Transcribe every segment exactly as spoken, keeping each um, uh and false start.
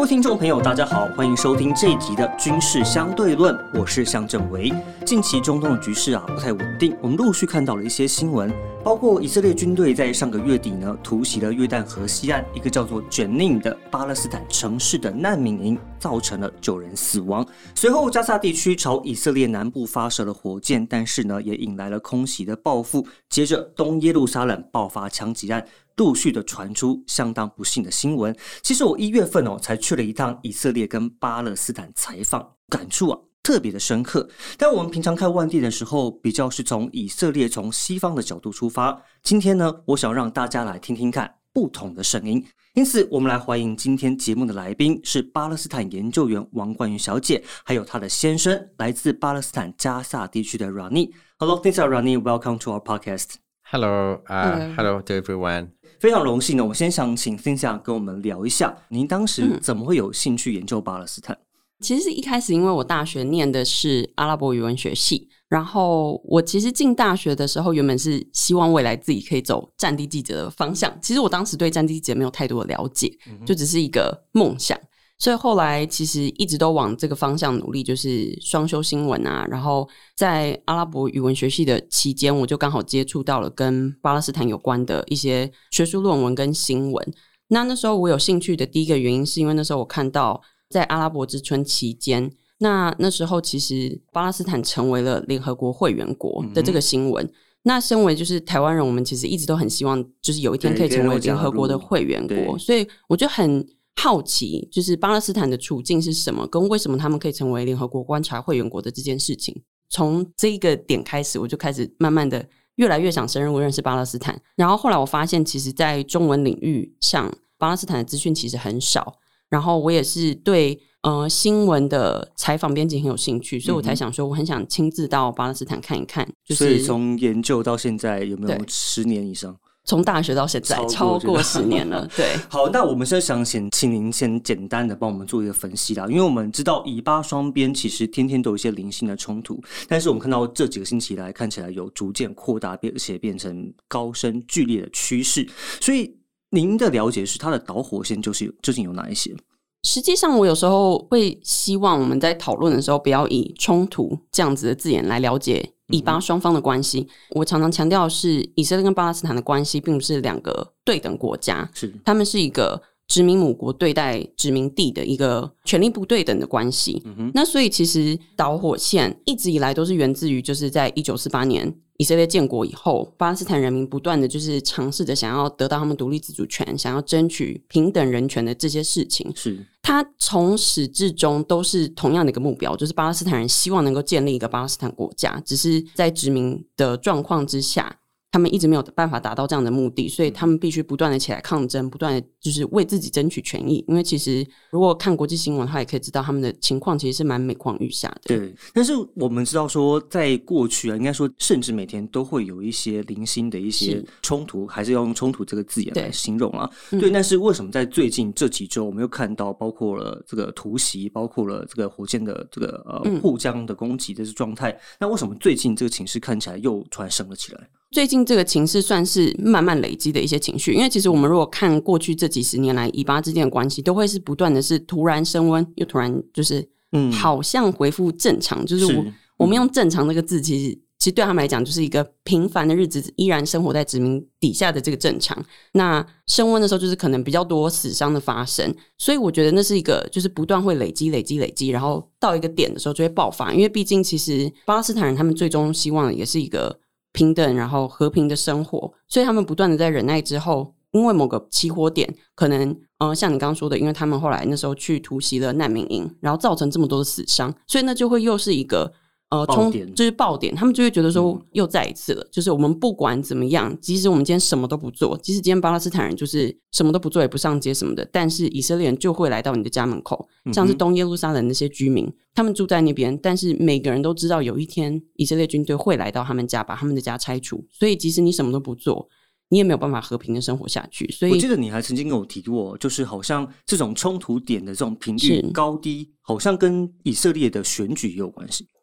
位听众朋友大家好，欢迎收听这一集的军事相对论，我是向正维。近期中东的局势啊不太稳定，我们陆续看到了一些新闻，包括以色列军队在上个月底呢突袭了约旦河西岸一个叫做 Jenin 的巴勒斯坦城市的难民营，造成了九人死亡。随后加萨地区朝以色列南部发射了火箭，但是呢也引来了空袭的报复。接着东耶路撒冷爆发枪击案，陆续的传出相当不幸的新闻。其实我一月份哦才去了一趟以色列跟巴勒斯坦采访，感触啊特别的深刻。但我们平常看万地的时候，比较是从以色列从西方的角度出发。今天呢，我想让大家来听听看不同的声音。因此，我们来欢迎今天节目的来宾是巴勒斯坦研究员王冠瑜小姐，还有她的先生，来自巴勒斯坦加萨地区的 Rani。Hello, thanks, Rani. Welcome to our podcast.Hello, uh, hello to everyone. 非常荣幸呢，我先想请 Cynthia 跟我们聊一下，您当时怎么会有兴趣研究巴勒斯坦？ 嗯、其实是一开始因为我大学念的是阿拉伯语文学系，然后我其实进大学的时候原本是希望未来自己可以走战地记者的方向，其实我当时对战地记者没有太多的了解，就只是一个梦想。所以后来其实一直都往这个方向努力，就是双修新闻啊，然后在阿拉伯语文学系的期间，我就刚好接触到了跟巴勒斯坦有关的一些学术论文跟新闻。那那时候我有兴趣的第一个原因是因为那时候我看到在阿拉伯之春期间，那那时候其实巴勒斯坦成为了联合国会员国的这个新闻、嗯、那身为就是台湾人，我们其实一直都很希望就是有一天可以成为联合国的会员国，所以我就很好奇就是巴勒斯坦的处境是什么，跟为什么他们可以成为联合国观察会员国的这件事情。从这一个点开始，我就开始慢慢的越来越想深入认识巴勒斯坦。然后后来我发现其实在中文领域上巴勒斯坦的资讯其实很少，然后我也是对呃新闻的采访编辑很有兴趣，所以我才想说我很想亲自到巴勒斯坦看一看、就是、 所以从研究到现在有没有十年以上？ 从大学到现在超过十年了。对， 好，那我们现在想先请您先简单的帮我们做一个分析啦，因为我们知道以巴双边其实天天都有一些零星的冲突，但是我们看到这几个星期来看起来有逐渐扩大，而且变成高升剧烈的趋势，所以您的了解是它的导火线就是究竟有哪一些？ 实际上我有时候会希望我们在讨论的时候不要以冲突这样子的字眼来了解以巴双方的关系、嗯、我常常强调的是以色列跟巴勒斯坦的关系并不是两个对等国家，是他们是一个殖民母国对待殖民地的一个权力不对等的关系、嗯、那所以其实导火线一直以来都是源自于就是在一九四八年以色列建国以后，巴勒斯坦人民不断的就是尝试着想要得到他们独立自主权，想要争取平等人权的这些事情，是他从始至终都是同样的一个目标，就是巴勒斯坦人希望能够建立一个巴勒斯坦国家，只是在殖民的状况之下他们一直没有办法达到这样的目的，所以他们必须不断的起来抗争，不断的就是为自己争取权益。因为其实如果看国际新闻的话也可以知道他们的情况其实是蛮每况愈下的。 对，但是我们知道说在过去啊，应该说甚至每天都会有一些零星的一些冲突，还是要用冲突这个字眼来形容啊。对，对、嗯、但是为什么在最近这几周我们又看到包括了这个突袭，包括了这个火箭的这个呃互相的攻击的这状态、嗯、那为什么最近这个情势看起来又突然升了起来？ 最近这个情势算是慢慢累积的一些情绪，因为其实我们如果看过去这几十年来以巴之间的关系都会是不断的是突然升温又突然就是好像恢复正常、嗯、就是我是我们用正常这个字其实其实对他们来讲就是一个平凡的日子，依然生活在殖民底下的这个正常。那升温的时候就是可能比较多死伤的发生，所以我觉得那是一个就是不断会累积累积累积，然后到一个点的时候就会爆发。因为毕竟其实巴勒斯坦人他们最终希望的也是一个平等然后和平的生活，所以他们不断的在忍耐之后，因为某个起火点可能呃，像你刚刚说的，因为他们后来那时候去突袭了难民营，然后造成这么多的死伤，所以那就会又是一个呃，冲就是爆点，他们就会觉得说又再一次了、嗯、就是我们不管怎么样，即使我们今天什么都不做，即使今天巴勒斯坦人就是什么都不做也不上街什么的，但是以色列人就会来到你的家门口、嗯、像是东耶路撒冷那些居民他们住在那边，但是每个人都知道有一天以色列军队会来到他们家把他们的家拆除，所以即使你什么都不做你也没有办法和平的生活下去。所以我记得你还曾经跟我提过，就是好像这种冲突点的这种频率高低好像跟以色列的选举也有关系。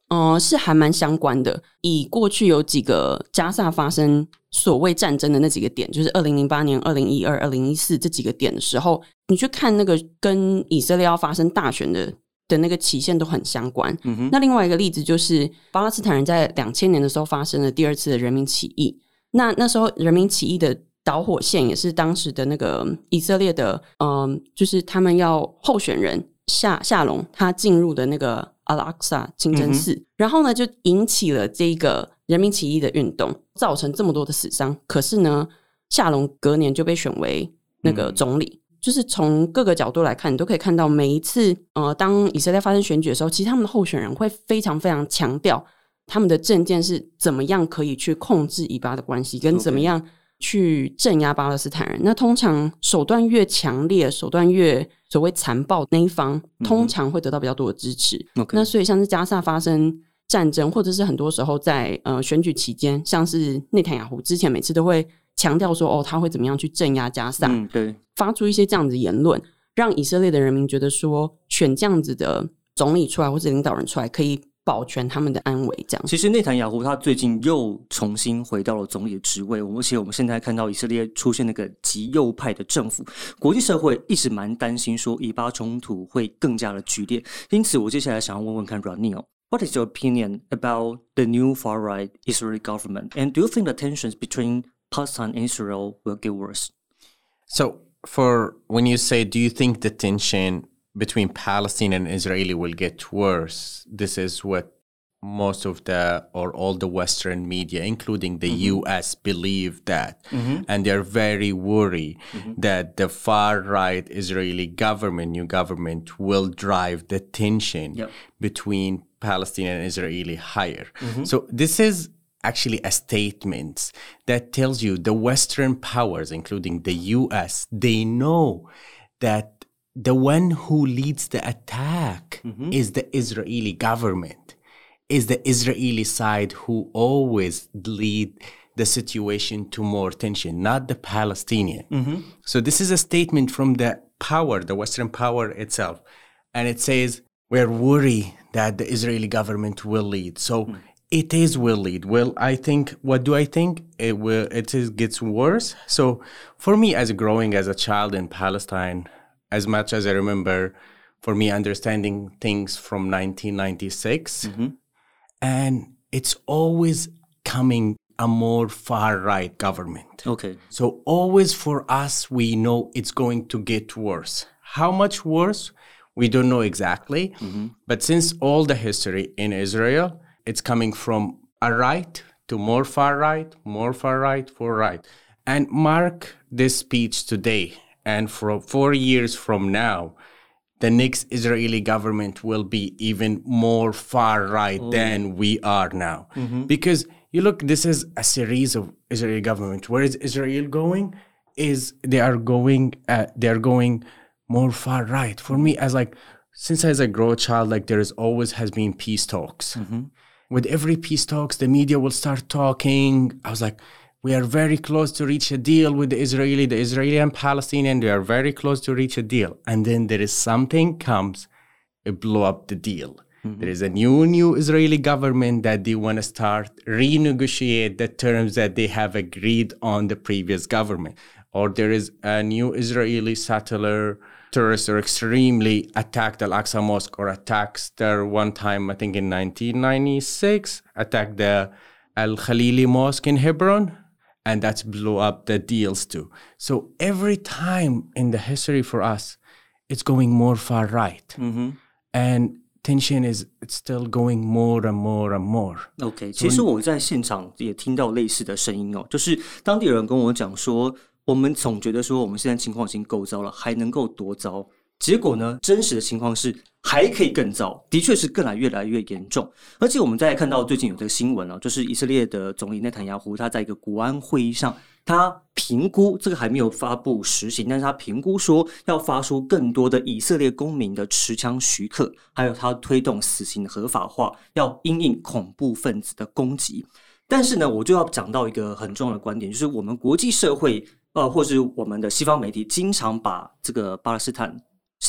呃，是还蛮相关的。以过去有几个加萨发生所谓战争的那几个点，就是二零零八年、二零一二、二零一四这几个点的时候，你去看那个跟以色列要发生大选的的那个期限都很相关。嗯哼，那另外一个例子就是巴勒斯坦人在两千年的时候发生了第二次的人民起义。那那时候人民起义的导火线也是当时的那个以色列的，嗯，就是他们要候选人夏夏隆他进入的那个阿拉克萨清真寺、嗯、然后呢就引起了这个人民起义的运动，造成这么多的死伤。可是呢夏隆隔年就被选为那个总理、嗯、就是从各个角度来看，你都可以看到每一次呃，当以色列发生选举的时候，其实他们的候选人会非常非常强调他们的政见是怎么样可以去控制以巴的关系，跟怎么样去镇压巴勒斯坦人。那通常手段越强烈，手段越所谓残暴那一方通常会得到比较多的支持、嗯、那所以像是加萨发生战争，或者是很多时候在呃选举期间，像是内塔尼亚胡之前每次都会强调说哦他会怎么样去镇压加萨、嗯、对，发出一些这样子的言论，让以色列的人民觉得说选这样子的总理出来或者领导人出来可以保全他们的安危。这样， 其实内塔尼亚胡他最近又重新回到了总理的职位，而且我们现在看到以色列出现那个极右派的政府，国际社会一直蛮担心说以巴冲突会更加的剧烈。因此我接下来想要问问看 Ronnie What is your opinion about the new far-right Israeli government? And do you think the tensions between Palestine and Israel will get worse? So, for when you say, do you think the tension between Palestine and Israeli will get worse? This is what most of the, or all the Western media, including the mm-hmm. U S, believe that. Mm-hmm. And they're very worried mm-hmm. that the far-right Israeli government, new government, will drive the tension yep. between Palestinian and Israeli higher. Mm-hmm. So this is actually a statement that tells you the Western powers, including the U S, they know that the one who leads the attack mm-hmm. is the Israeli government, is the Israeli side who always lead the situation to more tension, not the Palestinian. Mm-hmm. So this is a statement from the power, the Western power itself. And it says, we're worried that the Israeli government will lead. So mm. it is will lead. Well, I think, what do I think? It will, it is, gets worse. So for me, as growing as a child in Palestine, as much as I remember, for me, understanding things from nineteen ninety-six, mm-hmm. and it's always coming a more far-right government. Okay. So always for us, we know it's going to get worse. How much worse? We don't know exactly. Mm-hmm. But since all the history in Israel, it's coming from a right to more far-right, more far-right, far right. And mark this speech today. And for four years from now, the next Israeli government will be even more far-right oh. than we are now. Mm-hmm. Because you look, this is a series of Israeli government. Where is Israel going? Is they are going, uh, they are going more far-right. For me, as like, since as a grow child, like there is always has been peace talks. Mm-hmm. With every peace talks, the media will start talking. I was like, we are very close to reach a deal with the Israeli, the Israeli and Palestinian. They are very close to reach a deal. And then there is something comes, it blow up the deal. Mm-hmm. There is a new, new Israeli government that they want to start renegotiate the terms that they have agreed on the previous government. Or there is a new Israeli settler, terrorists are extremely attacked Al-Aqsa Mosque or attacks there one time, I think in nineteen ninety-six, attacked the Al-Khalili Mosque in Hebron. And that's blew up the deals too. So every time in the history for us, it's going more far right. Mm-hmm. And tension is it's still going more and more and more. OK， 其实我在现场也听到类似的声音哦，就是当地人跟我讲说，我们总觉得说我们现在情况已经够糟了，还能够多糟？结果呢，真实的情况是还可以更糟，的确是更来越来越严重。而且我们再看到最近有这个新闻啊，就是以色列的总理内塔尼亚胡他在一个国安会议上，他评估这个还没有发布实行，但是他评估说要发出更多的以色列公民的持枪许可，还有他推动死刑的合法化，要因应恐怖分子的攻击。但是呢，我就要讲到一个很重要的观点，就是我们国际社会呃，或是我们的西方媒体经常把这个巴勒斯坦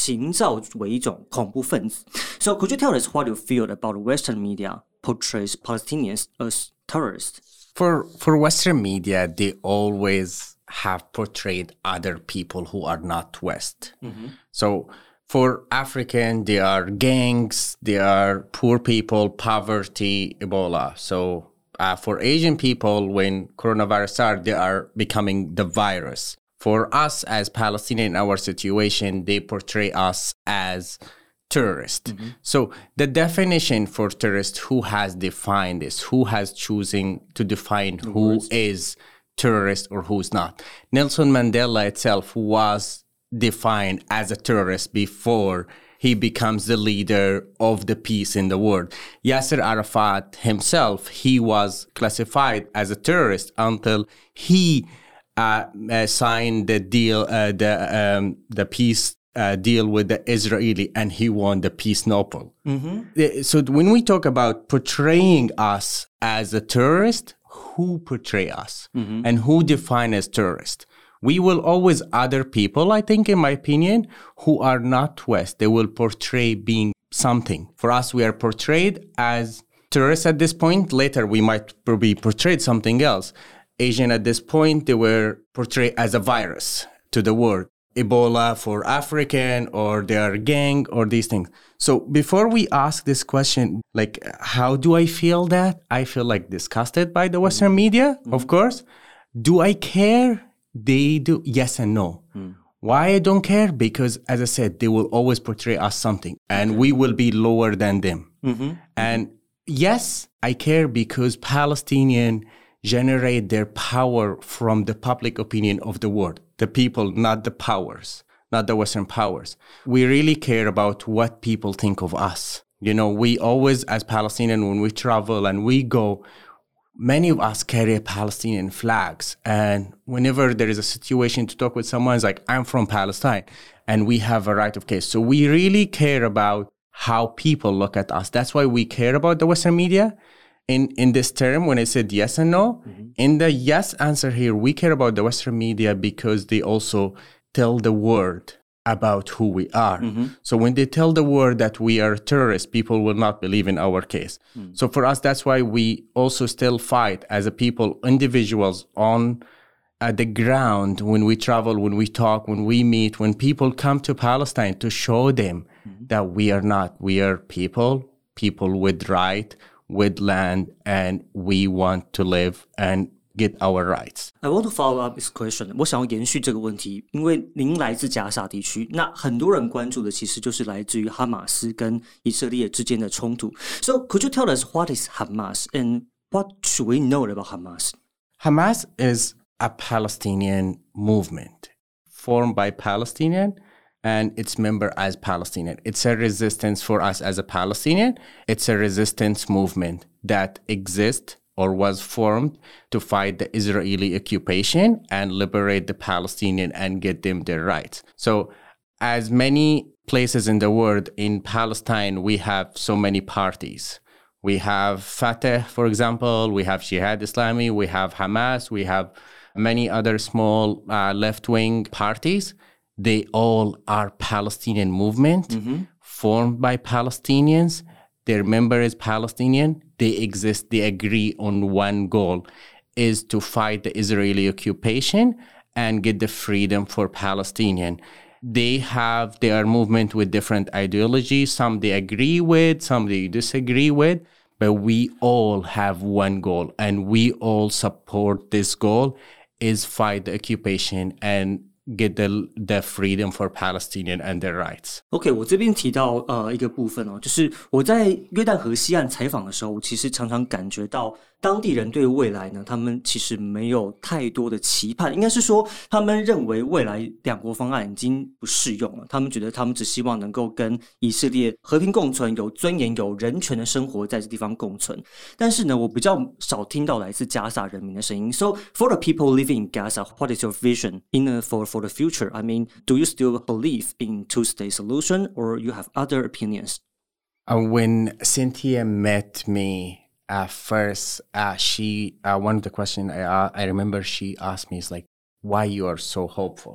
营造为一种恐怖分子。So could you tell us what you feel about Western media portrays Palestinians as terrorists? For for Western media, they always have portrayed other people who are not West. Mm-hmm. So for African, they are gangs, they are poor people, poverty, Ebola. So uh, for Asian people, when coronavirus started, they are becoming the virus. For us as Palestinian in our situation, they portray us as terrorist. Mm-hmm. So the definition for terrorist, who has defined this? Who has choosing to define the who words. Is terrorist or who's not? Nelson Mandela itself was defined as a terrorist before he becomes the leader of the peace in the world. Yasser Arafat himself, he was classified as a terrorist until he uh, uh, signed the deal, uh, the um, the peace uh, deal with the Israeli, and he won the Peace Nobel. Mm-hmm. So when we talk about portraying us as a terrorist, who portray us mm-hmm. and who define as terrorist? We will always other people, I think, in my opinion, who are not West. They will portray being something. For us, we are portrayed as terrorists at this point. Later, we might be portrayed something else. Asian at this point, they were portrayed as a virus to the world. Ebola for African, or they are gang, or these things. So before we ask this question, like, how do I feel that? I feel like disgusted by the Western mm-hmm. media, mm-hmm. of course. Do I care? They do. Yes and no. Mm. Why I don't care? Because, as I said, they will always portray us something, and okay. we will be lower than them. Mm-hmm. And yes, I care because Palestinians generate their power from the public opinion of the world. The people, not the powers, not the Western powers. We really care about what people think of us. You know, we always, as Palestinians, when we travel and we go, many of us carry Palestinian flags. And whenever there is a situation to talk with someone, it's like, I'm from Palestine, and we have a right of case. So we really care about how people look at us. That's why we care about the Western media. In in this term, when I said yes and no, mm-hmm. in the yes answer here, we care about the Western media because they also tell the world about who we are. Mm-hmm. So when they tell the world that we are terrorists, people will not believe in our case. Mm-hmm. So for us, that's why we also still fight as a people, individuals on uh, the ground, when we travel, when we talk, when we meet, when people come to Palestine, to show them mm-hmm. that we are not. We are people, people with right, with land, and we want to live and get our rights. I want to follow up this question. 我想要延续这个问题，因为您来自加沙地区，那很多人关注的其实就是来自于哈马斯跟以色列之间的冲突。So could you tell us what is Hamas and what should we know about Hamas? Hamas is a Palestinian movement formed by Palestinians and its member as Palestinian. It's a resistance for us as a Palestinian. It's a resistance movement that exists or was formed to fight the Israeli occupation and liberate the Palestinian and get them their rights. So as many places in the world, in Palestine, we have so many parties. We have Fatah, for example. We have Jihad Islami. We have Hamas. We have many other small uh, left-wing parties. They all are Palestinian movement mm-hmm. formed by Palestinians. Their member is Palestinian. They exist. They agree on one goal, is to fight the Israeli occupation and get the freedom for Palestinian. They have their movement with different ideologies. Some they agree with, some they disagree with. But we all have one goal, and we all support this goal, is fight the occupation and get the the freedom for Palestinian and their rights. OK， 我这边提到呃一个部分哦，就是我在约旦河西岸采访的时候，我其实常常感觉到当地人对未来呢，他们其实没有太多的期盼，应该是说他们认为未来两国方案已经不适用了，他们觉得他们只希望能够跟以色列和平共存，有尊严、有人权的生活在这地方共存。但是呢，我比较少听到来自加萨人民的声音。So for the people living in Gaza, what is your vision in a, for for the future? I mean, do you still believe in two-state solution, or you have other opinions? Uh, when Cynthia met me at first, uh, she uh, one of the questions I uh, I remember she asked me is like, why you are so hopeful?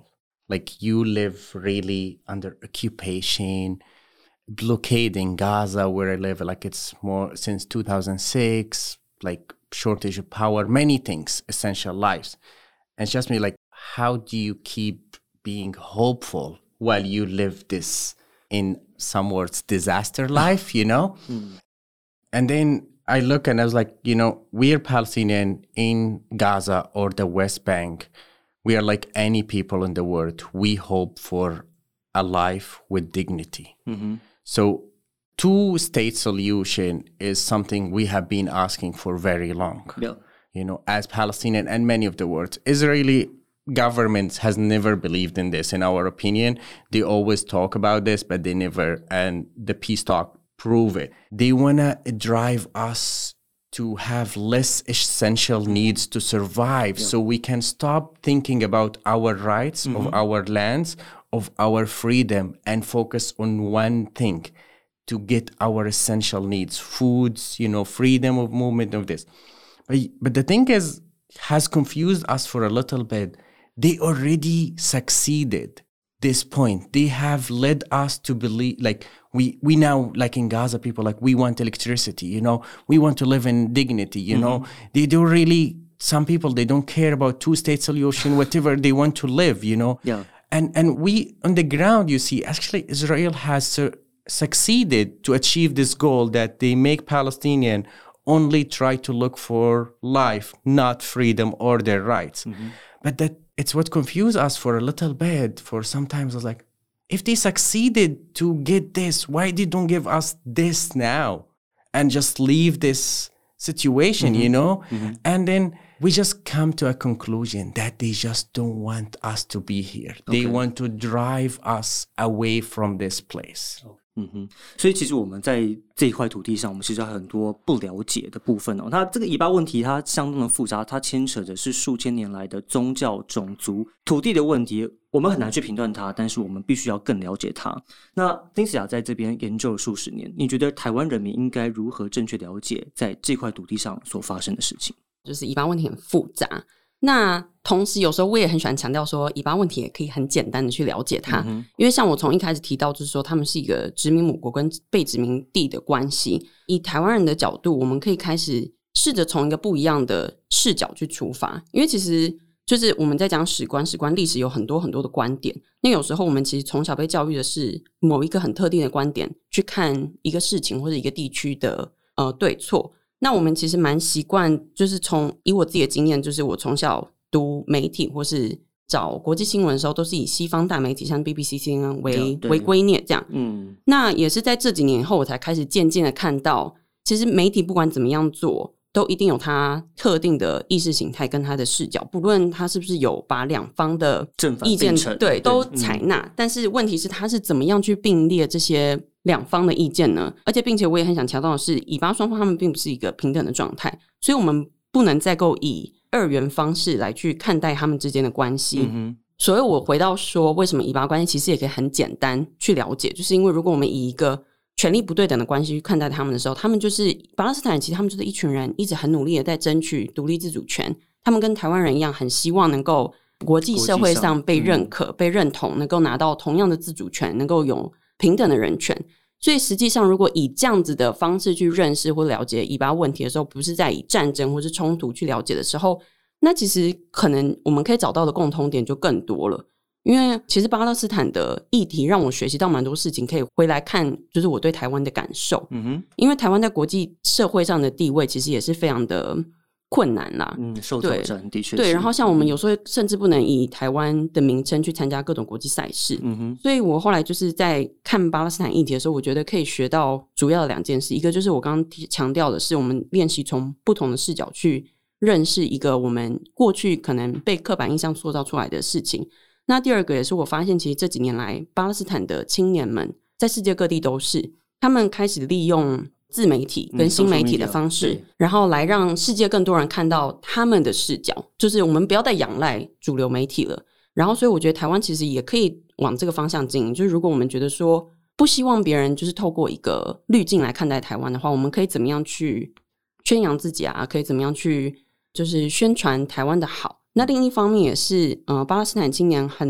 like you live really under occupation, blockade in Gaza where I live, like it's more since two thousand six, like shortage of power, many things, essential lives. And it's just me like, how do you keep being hopeful while you live this, in some words, disaster life, you know? Mm. And then I look and I was like, you know, we're Palestinian in Gaza or the West Bank. We are like any people in the world. We hope for a life with dignity. Mm-hmm. So two-state solution is something we have been asking for very long. Yeah. You know, as Palestinian and many of the world, Israeli government has never believed in this, in our opinion. They always talk about this, but they never, and the peace talk prove it. They want to drive us to have less essential needs to survive, yeah. so we can stop thinking about our rights, mm-hmm. of our lands, of our freedom, and focus on one thing, to get our essential needs, foods, you know, freedom of movement of this. But, but the thing is, has confused us for a little bit. They already succeeded this point. They have led us to believe, like, we, we now, like in Gaza, people like, we want electricity, you know, we want to live in dignity, you mm-hmm. know. They don't really, some people, they don't care about two-state solution, whatever they want to live, you know. Yeah. And and we, on the ground, you see, actually, Israel has su- succeeded to achieve this goal that they make Palestinian only try to look for life, not freedom or their rights. Mm-hmm. But that it's what confused us for a little bit. For sometimes I was like, if they succeeded to get this, why they don't give us this now and just leave this situation, mm-hmm. you know? Mm-hmm. And then we just come to a conclusion that they just don't want us to be here. Okay. They want to drive us away from this place. Oh.嗯哼，所以其实我们在这一块土地上，我们其实还有很多不了解的部分哦。它这个以巴问题，它相当的复杂，它牵扯的是数千年来的宗教、种族、土地的问题，我们很难去评断它，但是我们必须要更了解它。那丁思雅在这边研究了数十年，你觉得台湾人民应该如何正确了解在这块土地上所发生的事情？ 就是以巴问题很复杂。那同时有时候我也很喜欢强调说，以巴问题也可以很简单的去了解它，嗯、因为像我从一开始提到就是说他们是一个殖民母国跟被殖民地的关系，以台湾人的角度，我们可以开始试着从一个不一样的视角去出发，因为其实就是我们在讲史观，史观历史有很多很多的观点，那有时候我们其实从小被教育的是某一个很特定的观点去看一个事情或者一个地区的呃对错。那我们其实蛮习惯，就是从以我自己的经验，就是我从小读媒体或是找国际新闻的时候，都是以西方大媒体像 B B C、C N N 为为圭臬这样。嗯，那也是在这几年以后，我才开始渐渐的看到，其实媒体不管怎么样做，都一定有它特定的意识形态跟它的视角，不论它是不是有把两方的意见对都采纳、嗯，但是问题是它是怎么样去并列这些两方的意见呢？而且并且我也很想强调的是，以巴双方他们并不是一个平等的状态，所以我们不能再够以二元方式来去看待他们之间的关系。嗯、所以我回到说，为什么以巴关系其实也可以很简单去了解，就是因为如果我们以一个权力不对等的关系去看待他们的时候，他们就是巴勒斯坦人，其实他们就是一群人一直很努力的在争取独立自主权，他们跟台湾人一样，很希望能够国际社会上被认可、嗯、被认同，能够拿到同样的自主权，能够有平等的人权。所以实际上如果以这样子的方式去认识或了解以巴问题的时候，不是在以战争或是冲突去了解的时候，那其实可能我们可以找到的共同点就更多了。因为其实巴勒斯坦的议题让我学习到蛮多事情，可以回来看就是我对台湾的感受。嗯哼，因为台湾在国际社会上的地位其实也是非常的困难啦， 嗯，受挑战的确是。 对，然后像我们有时候甚至不能以台湾的名称去参加各种国际赛事。嗯哼，所以我后来就是在看巴勒斯坦议题的时候，我觉得可以学到主要的两件事，一个就是我刚刚强调的是我们练习从不同的视角去认识一个我们过去可能被刻板印象塑造出来的事情。那第二个也是我发现其实这几年来巴勒斯坦的青年们在世界各地都是他们开始利用自媒体跟新媒体的方式、嗯、然后来让世界更多人看到他们的视角，就是我们不要再仰赖主流媒体了。然后所以我觉得台湾其实也可以往这个方向经营，就是如果我们觉得说不希望别人就是透过一个滤镜来看待台湾的话，我们可以怎么样去宣扬自己啊，可以怎么样去就是宣传台湾的好。那另一方面也是呃，巴勒斯坦青年很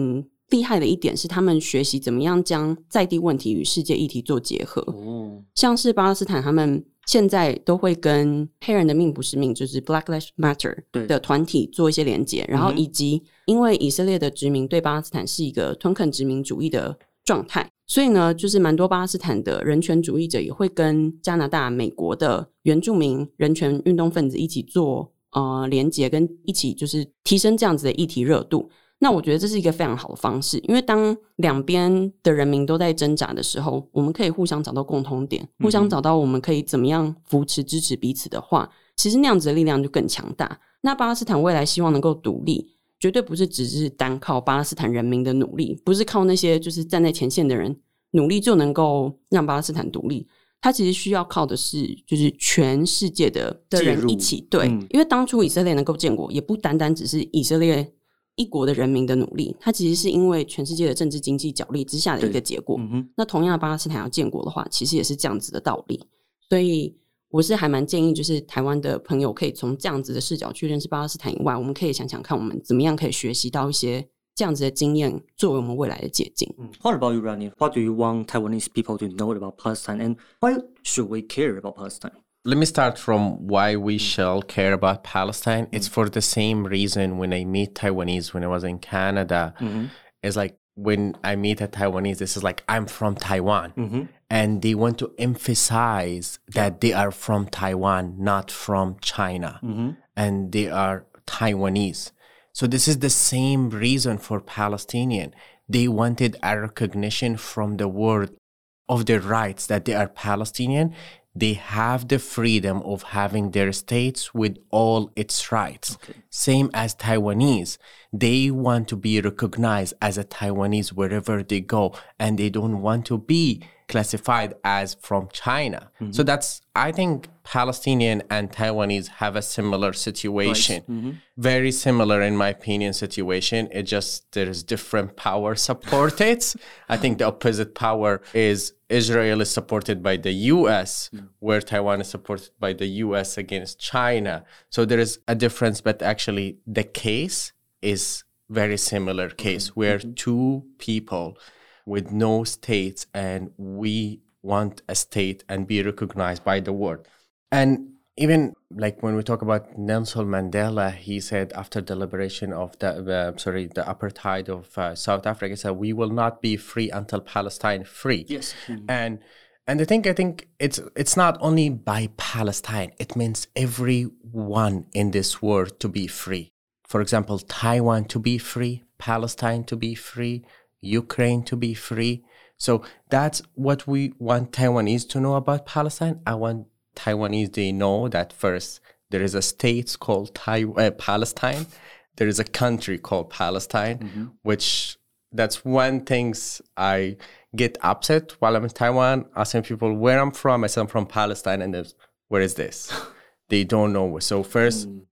厉害的一点是他们学习怎么样将在地问题与世界议题做结合、哦、像是巴勒斯坦他们现在都会跟黑人的命不是命就是 Black Lives Matter 的团体做一些连结，然后以及因为以色列的殖民对巴勒斯坦是一个吞垦殖民主义的状态，所以呢就是蛮多巴勒斯坦的人权主义者也会跟加拿大美国的原住民人权运动分子一起做呃连结，跟一起就是提升这样子的议题热度。那我觉得这是一个非常好的方式，因为当两边的人民都在挣扎的时候，我们可以互相找到共通点、嗯、互相找到我们可以怎么样扶持支持彼此的话，其实那样子的力量就更强大。那巴勒斯坦未来希望能够独立，绝对不是只是单靠巴勒斯坦人民的努力，不是靠那些就是站在前线的人努力就能够让巴勒斯坦独立，它其实需要靠的是就是全世界的的人一起对、嗯、因为当初以色列能够建国也不单单只是以色列一国的人民的努力，它其实是因为全世界的政治经济角力之下的一个结果、嗯、那同样巴勒斯坦要建国的话其实也是这样子的道理。所以我是还蛮建议就是台湾的朋友可以从这样子的视角去认识巴勒斯坦以外，我们可以想想看我们怎么样可以学习到一些这样子的经验作为我们未来的借鉴、嗯、 What about you, Rani? What do you want Taiwanese people to know about Palestine, and why should we care about Palestine?Let me start from why we shall care about Palestine. It's for the same reason when I meet Taiwanese when I was in Canada. Mm-hmm. It's like when I meet a Taiwanese, this is like, I'm from Taiwan. Mm-hmm. And they want to emphasize that they are from Taiwan, not from China. Mm-hmm. And they are Taiwanese. So this is the same reason for Palestinian. They wanted a recognition from the world of their rights, that they are Palestinian.They have the freedom of having their states with all its rights. Okay. Same as Taiwanese. They want to be recognized as a Taiwanese wherever they go, and they don't want to be classified as from China. Mm-hmm. So that's, I think Palestinian and Taiwanese have a similar situation. Right. Mm-hmm. Very similar, in my opinion, situation. It just, there's different power supported. I think the opposite power is Israel is supported by the U S, mm. where Taiwan is supported by the U S against China. So there is a difference, but actually the case is very similar case, mm-hmm. where mm-hmm. two people with no states, and we want a state and be recognized by the world. And even like when we talk about Nelson Mandela, he said after the liberation of the, uh, sorry, the apartheid of uh, South Africa, he said, we will not be free until Palestine free. Yes. Mm-hmm. And and I think I think it's it's not only by Palestine, it means everyone in this world to be free. For example, Taiwan to be free, Palestine to be free, Ukraine to be free. So that's what we want Taiwanese to know about Palestine. I want Taiwanese, they know that first there is a state called Tai- uh, Palestine. There is a country called Palestine, mm-hmm. which that's one thing I get upset while I'm in Taiwan, asking people where I'm from. I say I'm from Palestine, and where is this? They don't know. So first, mm.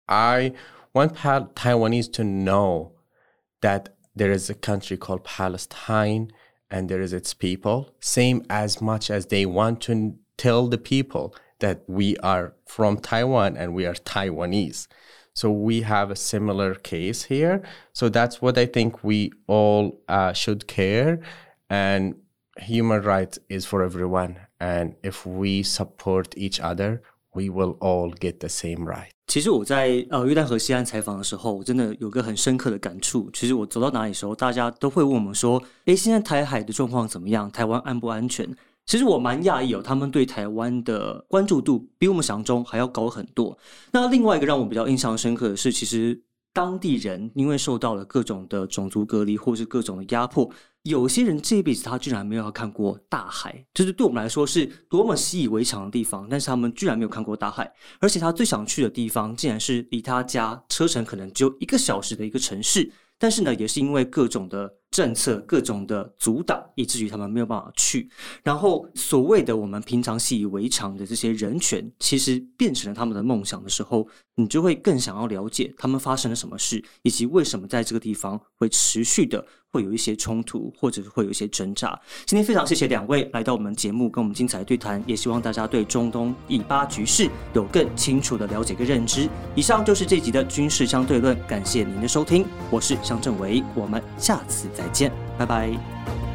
I want pa- Taiwanese to know that there is a country called Palestine, and there is its people, same as much as they want to tell the people that we are from Taiwan and we are Taiwanese. So we have a similar case here. So that's what I think we all uh, should care. And human rights is for everyone. And if we support each other, we will all get the same right. 其实我在呃约旦河西岸采访的时候，我真的有个很深刻的感触。其实我走到哪里的时候，大家都会问我们说：“诶，现在台海的状况怎么样？台湾安不安全？”其实我蛮讶异哦，他们对台湾的关注度比我们想象中还要高很多。那另外一个让我比较印象深刻的是，其实当地人因为受到了各种的种族隔离或是各种的压迫，有些人这一辈子他居然没有看过大海，就是对我们来说是多么习以为常的地方，但是他们居然没有看过大海，而且他最想去的地方竟然是离他家车程可能只有一个小时的一个城市，但是呢也是因为各种的政策各种的阻挡，以至于他们没有办法去。然后所谓的我们平常习以为常的这些人权，其实变成了他们的梦想的时候，你就会更想要了解他们发生了什么事，以及为什么在这个地方会持续的会有一些冲突，或者会有一些挣扎。今天非常谢谢两位来到我们节目跟我们精彩的对谈，也希望大家对中东以巴局势有更清楚的了解跟认知。以上就是这集的军事相对论，感谢您的收听，我是向正维，我们下次见。 再见，拜拜。